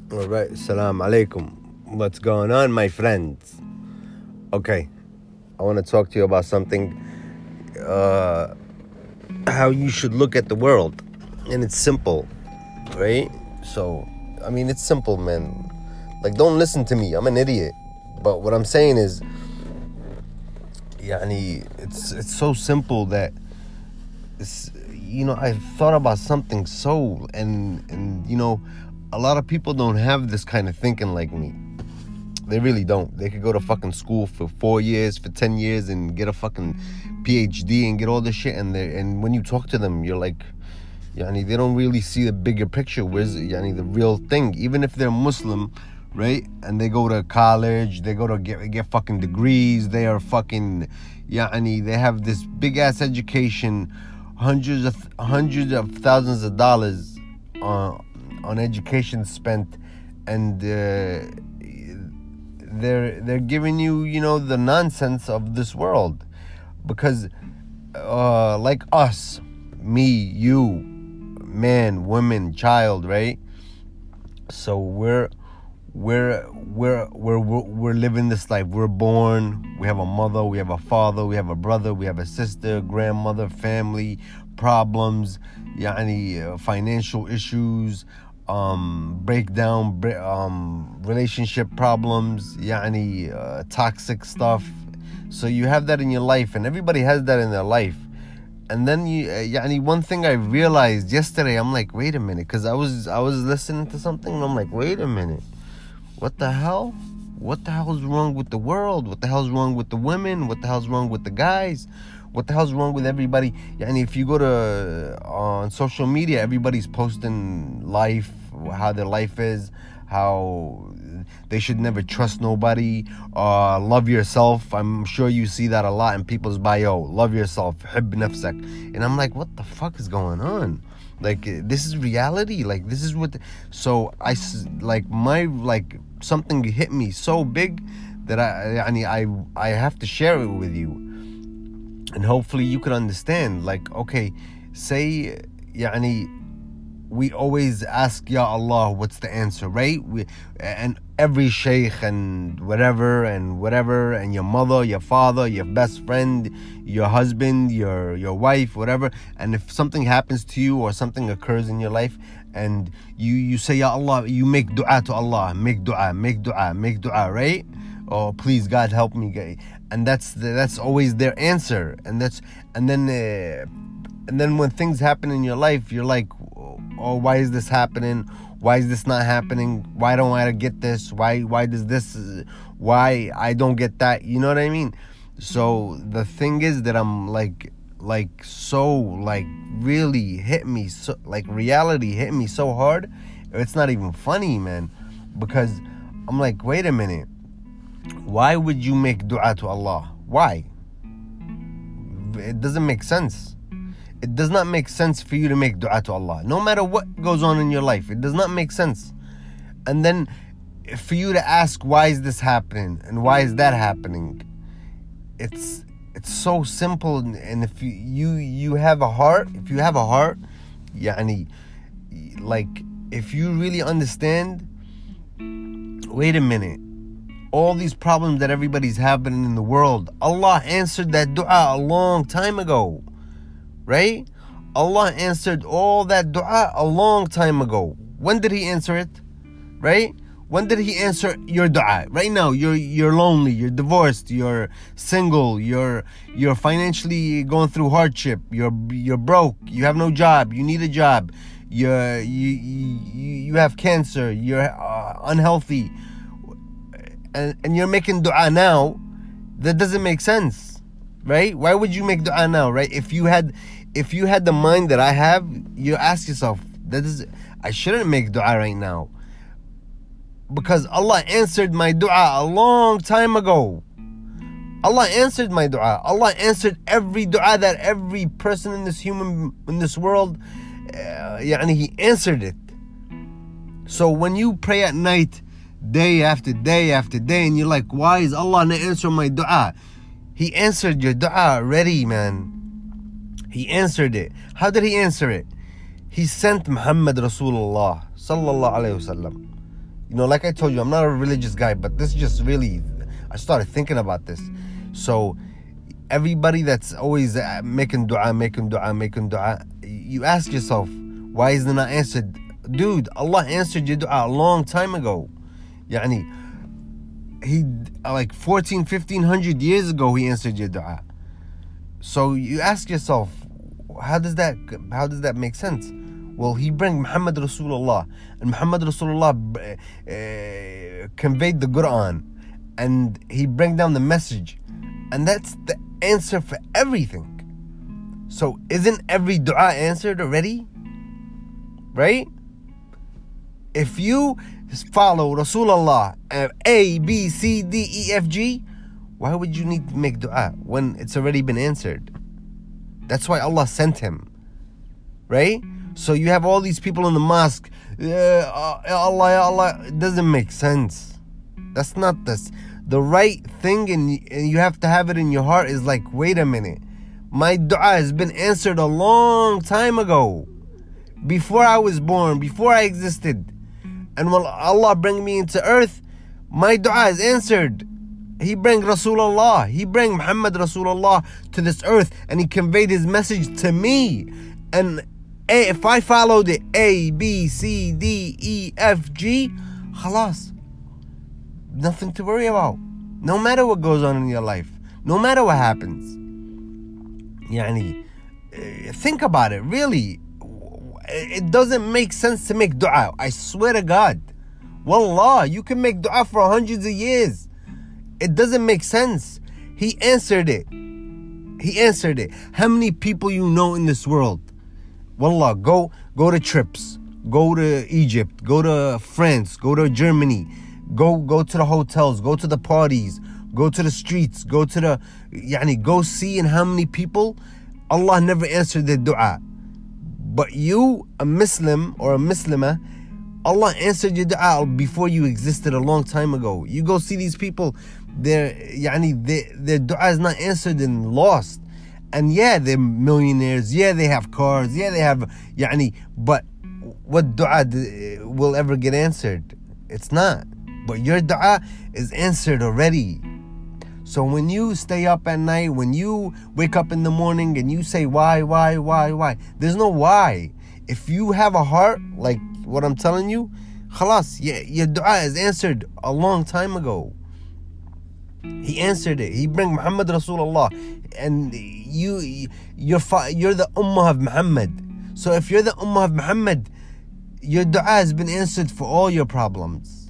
All right, salam alaikum. What's going on, my friends? Okay, I want to talk to you about something, how you should look at the world. And it's simple, right? So, I mean, it's simple, man. Like, don't listen to me. I'm an idiot. But what I'm saying is, it's so simple that, I thought about something and a lot of people don't have this kind of thinking like me. They really don't. They could go to fucking school for 4 years, for 10 years, and get a fucking PhD and get all this shit. And when you talk to them, you're like, they don't really see the bigger picture. Where's the real thing? Even if they're Muslim, right? And they go to college, they go to get fucking degrees. They are fucking, they have this big ass education, hundreds of thousands of dollars on education spent, and they're giving you the nonsense of this world, because like us, me, you, man, woman, child, right? So we're living this life. We're born, we have a mother, we have a father, we have a brother, we have a sister, grandmother, family, problems, financial issues, breakdown, relationship problems, toxic stuff. So you have that in your life, and everybody has that in their life. And then one thing I realized yesterday, I'm like, wait a minute, because I was listening to something, and I'm like, wait a minute, what the hell? What the hell is wrong with the world? What the hell's wrong with the women? What the hell's wrong with the guys? What the hell's wrong with everybody? If you go to on social media, everybody's posting life, how their life is, how they should never trust nobody, love yourself. I'm sure you see that a lot in people's bio. Love yourself, hib nafsak. And I'm like, what the fuck is going on? Like, this is reality. Like, this is what. So something hit me so big that I have to share it with you, and hopefully you could understand. Like, okay, say, we always ask, Ya Allah, what's the answer, right? And every sheikh and whatever, and your mother, your father, your best friend, your husband, your wife, whatever. And if something happens to you or something occurs in your life, and you say, Ya Allah, you make dua to Allah, make dua, right? Oh, please, God, help me. And that's always their answer. And then when things happen in your life, you're like, oh, why is this happening? Why is this not happening? Why don't I get this? Why does this? Why I don't get that? You know what I mean? So the thing is that I'm really hit me, so like reality hit me so hard. It's not even funny, man, because I'm like, wait a minute. Why would you make dua to Allah? Why? It doesn't make sense. It does not make sense for you to make dua to Allah. No matter what goes on in your life, it does not make sense. And then for you to ask, why is this happening? And why is that happening? It's so simple. And if you have a heart, if you really understand, wait a minute, all these problems that everybody's having in the world, Allah answered that dua a long time ago. Right? Allah answered all that dua a long time ago. When did He answer it? Right? When did He answer your dua? Right now, you're lonely, you're divorced, you're single, you're financially going through hardship, you're broke, you have no job, you need a job, you have cancer, you're unhealthy, and you're making dua now. That doesn't make sense, right? Why would you make dua now, right? If you had the mind that I have, you ask yourself, I shouldn't make dua right now, because Allah answered my dua a long time ago. Allah answered my dua. Allah answered every dua that every person in this world, He answered it. So when you pray at night, day after day after day, and you're like, why is Allah not answering my dua? He answered your dua already, man. He answered it. How did He answer it? He sent Muhammad Rasulullah sallallahu alayhi wasallam. You know, like I told you, I'm not a religious guy, but this just really, I started thinking about this. So everybody that's always making dua, you ask yourself, why is it not answered? Dude, Allah answered your dua a long time ago. Yani, he, like 1500 years ago, he answered your dua. So you ask yourself, how does that make sense? Well, he bring Muhammad Rasulullah, and Muhammad Rasulullah conveyed the Quran, and he bring down the message, and that's the answer for everything. So isn't every dua answered already? Right? If you follow Rasulullah, A, B, C, D, E, F, G, why would you need to make dua when it's already been answered? That's why Allah sent him. Right? So you have all these people in the mosque, Allah, it doesn't make sense. That's not the right thing, and you have to have it in your heart is like, wait a minute, my dua has been answered a long time ago, before I was born, before I existed. And when Allah bring me into earth, my dua is answered. He bring Rasulullah, he bring Muhammad Rasulullah to this earth, and he conveyed his message to me. And if I followed it, A, B, C, D, E, F, G, khalas, nothing to worry about. No matter what goes on in your life, no matter what happens. Yani, think about it, really. It doesn't make sense to make dua. I swear to God. Wallah, you can make dua for hundreds of years. It doesn't make sense. He answered it. He answered it. How many people you know in this world? Wallah, go to trips. Go to Egypt. Go to France. Go to Germany. Go to the hotels. Go to the parties. Go to the streets. Go see in how many people Allah never answered their dua. But you, a Muslim or a Muslimah, Allah answered your dua before you existed a long time ago. You go see these people, their dua is not answered and lost. And yeah, they're millionaires. Yeah, they have cars. Yeah, they have, but what dua will ever get answered? It's not. But your dua is answered already. So when you stay up at night, when you wake up in the morning and you say, why? There's no why. If you have a heart, like what I'm telling you, khalas, your dua is answered a long time ago. He answered it. He bring Muhammad Rasulullah, and you're the ummah of Muhammad. So if you're the ummah of Muhammad, your dua has been answered for all your problems.